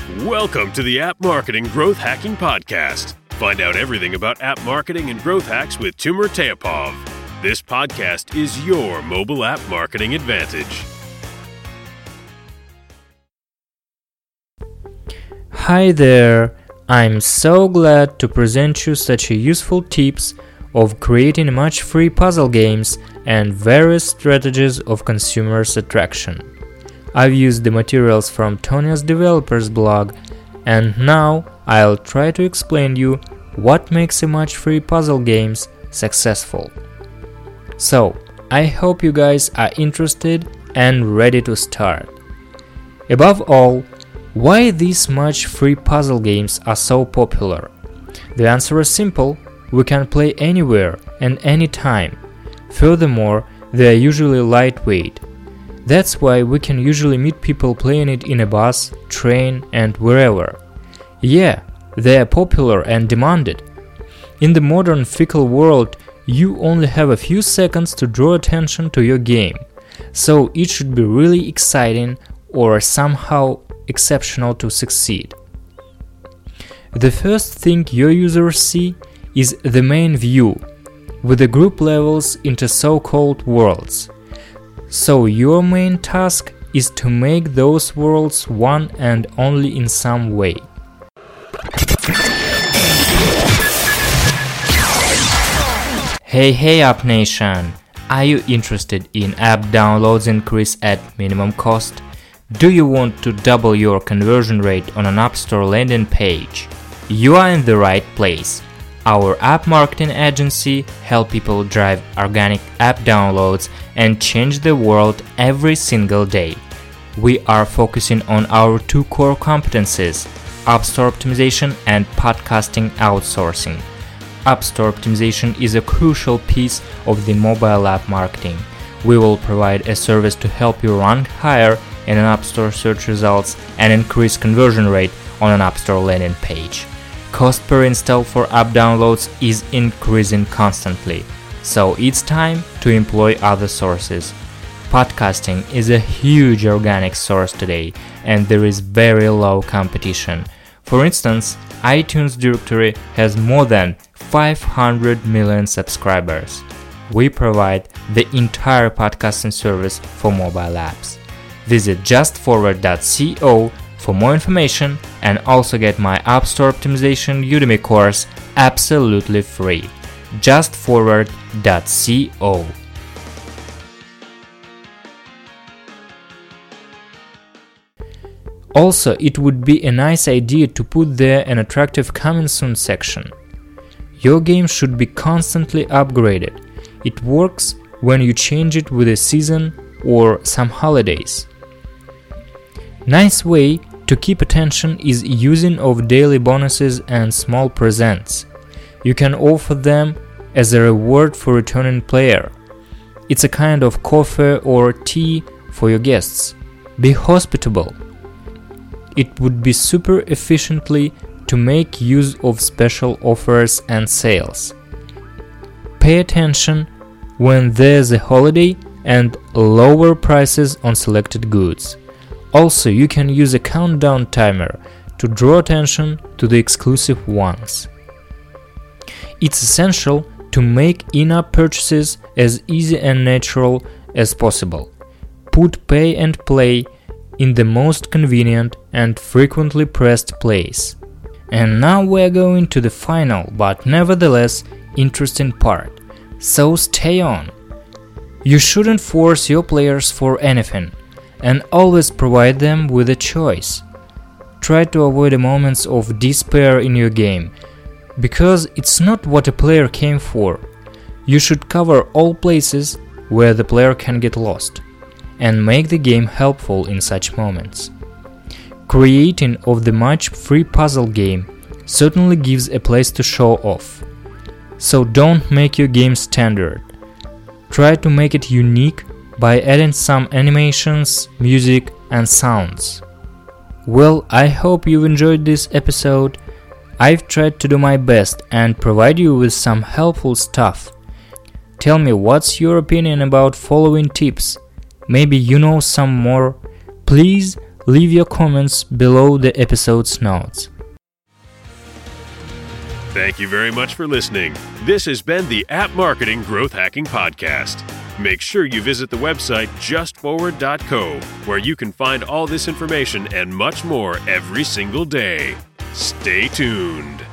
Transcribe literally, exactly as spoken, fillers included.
Welcome to the App Marketing Growth Hacking Podcast. Find out everything about app marketing and growth hacks with Timur Teapov. This podcast is your mobile app marketing advantage. Hi there! I'm so glad to present you such a useful tips of creating much free puzzle games and various strategies of consumers attraction. I've used the materials from Tonia's developers blog, and now I'll try to explain you what makes a much free puzzle games successful. So, I hope you guys are interested and ready to start. Above all, why these much free puzzle games are so popular? The answer is simple: we can play anywhere and anytime. Furthermore, they are usually lightweight. That's why we can usually meet people playing it in a bus, train, and wherever. Yeah, they are popular and demanded. In the modern fickle world, you only have a few seconds to draw attention to your game, so it should be really exciting or somehow exceptional to succeed. The first thing your users see is the main view, with the group levels into so-called worlds. So your main task is to make those worlds one and only in some way. Hey hey App Nation! Are you interested in app downloads increase at minimum cost? Do you want to double your conversion rate on an App Store landing page? You are in the right place. Our app marketing agency helps people drive organic app downloads and change the world every single day. We are focusing on our two core competencies: App Store optimization and podcasting outsourcing. App Store optimization is a crucial piece of the mobile app marketing. We will provide a service to help you rank higher in an App Store search results and increase conversion rate on an App Store landing page. Cost per install for app downloads is increasing constantly, so it's time to employ other sources. Podcasting is a huge organic source today, and there is very low competition. For instance, iTunes directory has more than five hundred million subscribers. We provide the entire podcasting service for mobile apps. Visit just forward dot co for more information and also get my App Store Optimization Udemy course absolutely free. just forward dot co. Also, it would be a nice idea to put there an attractive coming soon section. Your game should be constantly upgraded. It works when you change it with a season or some holidays. Nice way to keep attention is using of daily bonuses and small presents. You can offer them as a reward for returning player. It's a kind of coffee or tea for your guests. Be hospitable. It would be super efficiently to make use of special offers and sales. Pay attention when there's a holiday and lower prices on selected goods. Also, you can use a countdown timer to draw attention to the exclusive ones. It's essential to make in-app purchases as easy and natural as possible. Put pay and play in the most convenient and frequently pressed place. And now we're going to the final but nevertheless interesting part, so stay on. You shouldn't force your players for anything, and always provide them with a choice. Try to avoid the moments of despair in your game, because it's not what a player came for. You should cover all places where the player can get lost, and make the game helpful in such moments. Creating of the much free puzzle game certainly gives a place to show off. So don't make your game standard. Try to make it unique by adding some animations, music, and sounds. Well, I hope you've enjoyed this episode. I've tried to do my best and provide you with some helpful stuff. Tell me what's your opinion about following tips. Maybe you know some more. Please leave your comments below the episode's notes. Thank you very much for listening. This has been the App Marketing Growth Hacking Podcast. Make sure you visit the website just forward dot co, where you can find all this information and much more every single day. Stay tuned.